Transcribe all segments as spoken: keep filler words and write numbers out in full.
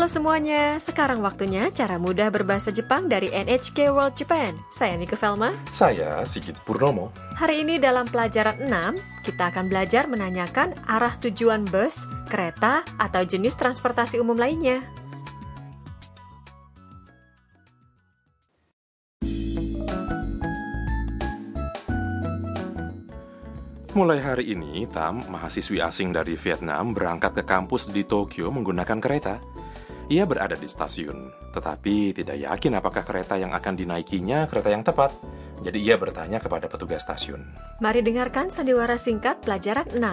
semuanya, sekarang waktunya cara mudah berbahasa Jepang dari N H K World Japan. Saya Nike Velma. Saya Sigit Purnomo. Hari ini dalam pelajaran enam, kita akan belajar menanyakan arah tujuan bus, kereta, atau jenis transportasi umum lainnya. Mulai hari ini, Tam, mahasiswi asing dari Vietnam, berangkat ke kampus di Tokyo menggunakan kereta. Ia berada di stasiun, tetapi tidak yakin apakah kereta yang akan dinaikinya kereta yang tepat. Jadi ia bertanya kepada petugas stasiun. Mari dengarkan sandiwara singkat pelajaran enam.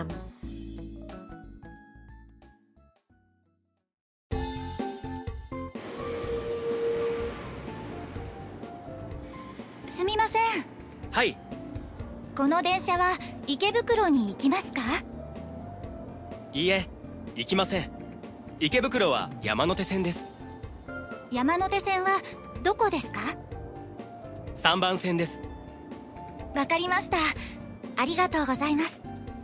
Sumimasen. Hai. この電車は池袋に行きますか？ いいえ、行きません。池袋は山手線です。 山手線はどこですか？ さんばん線です。 わかりました。ありがとうございます。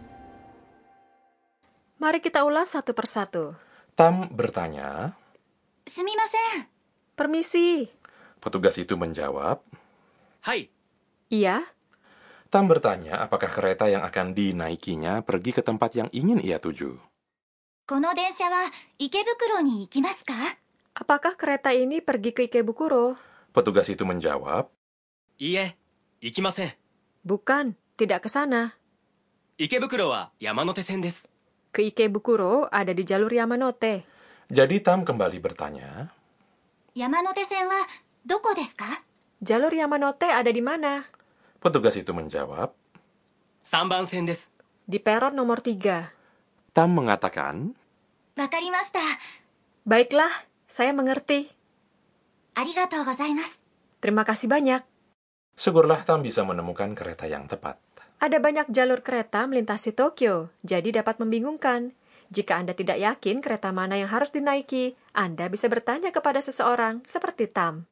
Mari kita ulas satu persatu. Tam bertanya. すみません。 Permisi. Petugas itu menjawab. はい。 Iya. Tam bertanya apakah kereta yang akan dinaikinya pergi ke tempat yang ingin ia tuju. この電車は池袋に行きますか？ Apakah kereta ini pergi ke Ikebukuro? Petugas itu menjawab. いいえ、行きません。 Bukan, tidak ke sana. 池袋は山手線です。 Ke Ikebukuro ada di jalur Yamanote. Jadi Tam kembali bertanya. 山手線はどこですか？ Jalur Yamanote ada di mana? Petugas itu menjawab. さんばん線です。 Di peron nomor tiga. Tam mengatakan. わかりました。 Baiklah, saya mengerti. ありがとうございます。 Terima kasih banyak. Syukurlah Tam bisa menemukan kereta yang tepat. Ada banyak jalur kereta melintasi Tokyo, jadi dapat membingungkan. Jika Anda tidak yakin kereta mana yang harus dinaiki, Anda bisa bertanya kepada seseorang seperti Tam.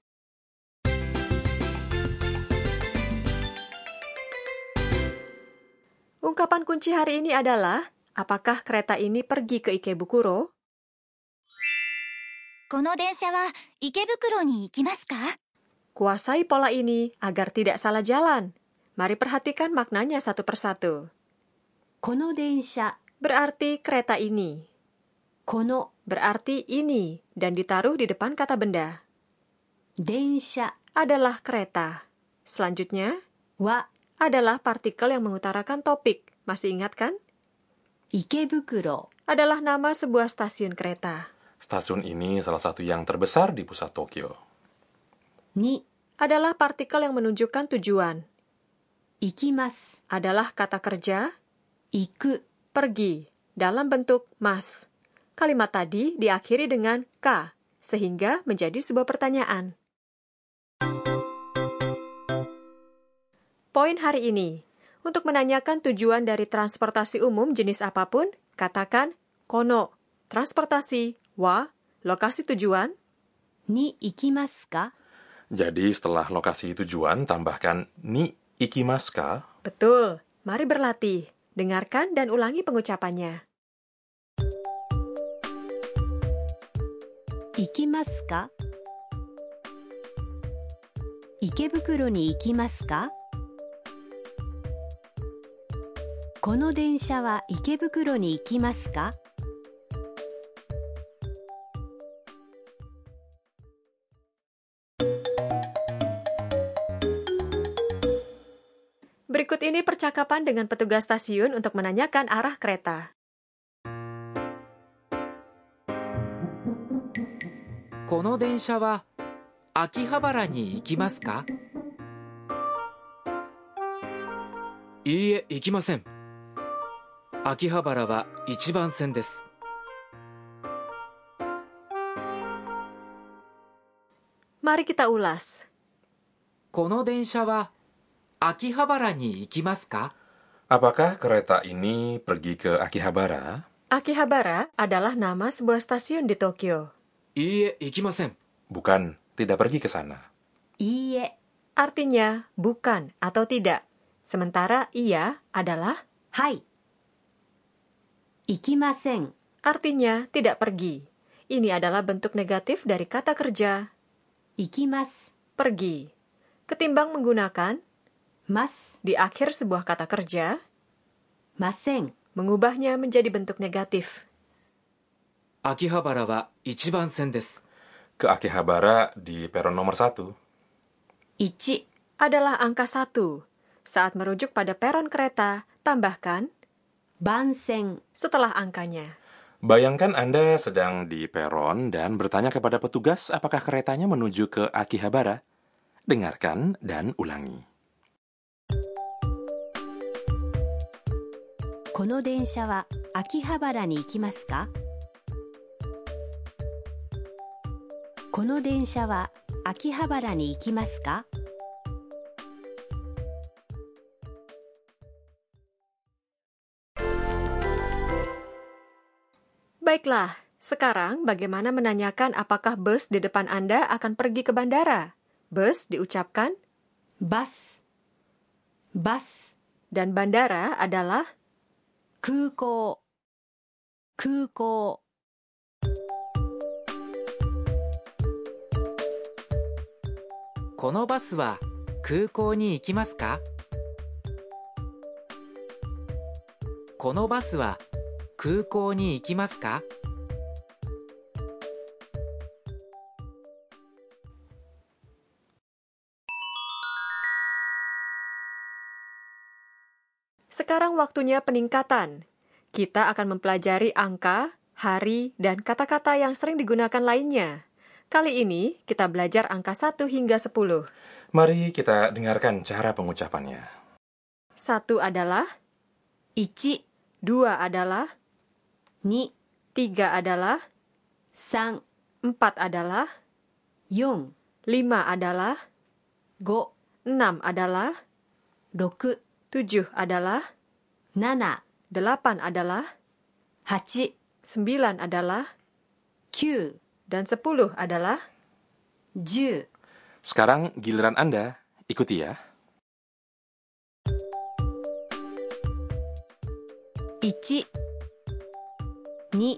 Ungkapan kunci hari ini adalah, apakah kereta ini pergi ke Ikebukuro? この電車は池袋に行きますか？ Kuasai pola ini agar tidak salah jalan. Mari perhatikan maknanya satu persatu. この電車 Berarti kereta ini. この Berarti ini dan ditaruh di depan kata benda. 電車 Adalah kereta. Selanjutnya, は adalah partikel yang mengutarakan topik. Masih ingat kan? 池袋 Adalah nama sebuah stasiun kereta. Stasiun ini salah satu yang terbesar di pusat Tokyo. に Adalah partikel yang menunjukkan tujuan. 行きます Adalah kata kerja 行く pergi dalam bentuk mas. Kalimat tadi diakhiri dengan ka, sehingga menjadi sebuah pertanyaan. Poin hari ini. Untuk menanyakan tujuan dari transportasi umum jenis apapun, katakan kono, transportasi, wa, lokasi tujuan. に行きますか Jadi setelah lokasi tujuan, tambahkan ni ikimasu ka? Betul. Mari berlatih. Dengarkan dan ulangi pengucapannya. 行きますか池袋に行きますかこの電車は池袋に行きますか Berikut ini percakapan dengan petugas stasiun untuk menanyakan arah kereta. この電車は秋葉原に行きますか？いいえ、行きません。秋葉原はいちばん線です。 Mari kita ulas. この電車は秋葉原に行きますか？ Apakah kereta ini pergi ke Akihabara? Akihabara adalah nama sebuah stasiun di Tokyo. いいえ、行きません。 Bukan, tidak pergi ke sana. いいえ Artinya bukan atau tidak. Sementara iya adalah はい行きません artinya tidak pergi. Ini adalah bentuk negatif dari kata kerja 行きます pergi. Ketimbang menggunakan ます di akhir sebuah kata kerja, ません mengubahnya menjadi bentuk negatif. 秋葉原は一番線です。 Ke Akihabara di peron nomor satu. いち Adalah angka satu. Saat merujuk pada peron kereta, tambahkan 番線 setelah angkanya. Bayangkan Anda sedang di peron dan bertanya kepada petugas apakah keretanya menuju ke Akihabara. Dengarkan dan ulangi. この電車は秋葉原に行きますかこの電車は秋葉原に行きますか Baiklah, sekarang bagaimana menanyakan apakah bus di depan Anda akan pergi ke bandara? Bus diucapkan バスバス dan bandara adalah 空港空港このバスは空港に行きますかこのバスは空港に行きますか Sekarang waktunya peningkatan. Kita akan mempelajari angka, hari, dan kata-kata yang sering digunakan lainnya. Kali ini kita belajar angka satu hingga sepuluh. Mari kita dengarkan cara pengucapannya. Satu adalah いち dua adalah に tiga adalah さん empat adalah よん lima adalah ご enam adalah ろく tujuh adalah なな delapan adalah はち sembilan adalah きゅう dan sepuluh adalah じゅう Sekarang giliran Anda, ikuti ya. いち に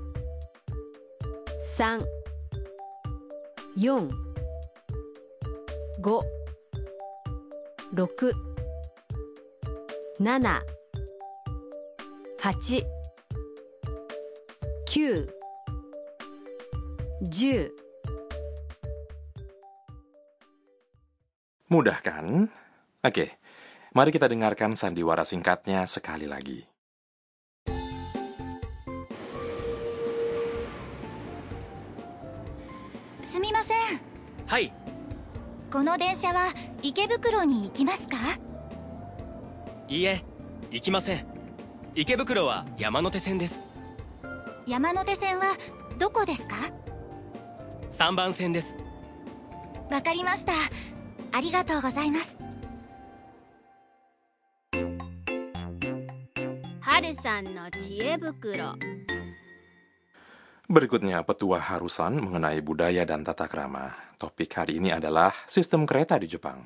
さん よん ご ろく なな はち きゅう じゅう Mudah kan? Oke, mari kita dengarkan sandiwara singkatnya sekali lagi. すみません。 はい。 この電車は池袋に行きますか？ いいえ、行きません。池袋は山手線です。 山手線はどこですか？ さんばん線です。 わかりました。ありがとうございます。 はるさんの知恵袋。 Berikutnya petua Harusan mengenai budaya dan tata krama. Topik hari ini adalah sistem kereta di Jepang.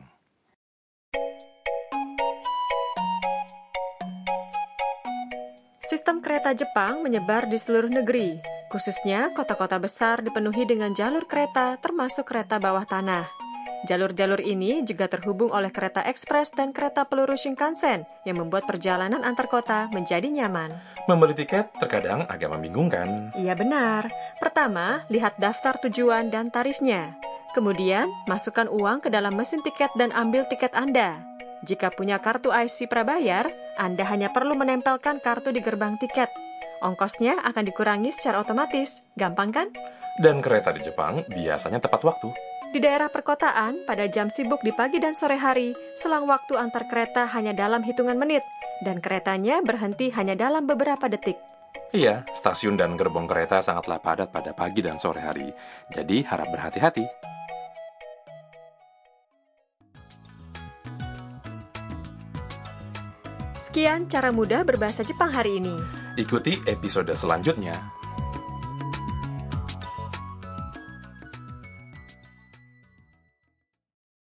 Sistem kereta Jepang menyebar di seluruh negeri. Khususnya kota-kota besar dipenuhi dengan jalur kereta termasuk kereta bawah tanah. Jalur-jalur ini juga terhubung oleh kereta ekspres dan kereta peluru Shinkansen yang membuat perjalanan antar kota menjadi nyaman. Membeli tiket terkadang agak membingungkan. Iya benar. Pertama, lihat daftar tujuan dan tarifnya. Kemudian, masukkan uang ke dalam mesin tiket dan ambil tiket Anda. Jika punya kartu I C prabayar, Anda hanya perlu menempelkan kartu di gerbang tiket. Ongkosnya akan dikurangi secara otomatis. Gampang kan? Dan kereta di Jepang biasanya tepat waktu. Di daerah perkotaan, pada jam sibuk di pagi dan sore hari, selang waktu antar kereta hanya dalam hitungan menit, dan keretanya berhenti hanya dalam beberapa detik. Iya, stasiun dan gerbong kereta sangatlah padat pada pagi dan sore hari. Jadi harap berhati-hati. Sekian cara mudah berbahasa Jepang hari ini. Ikuti episode selanjutnya.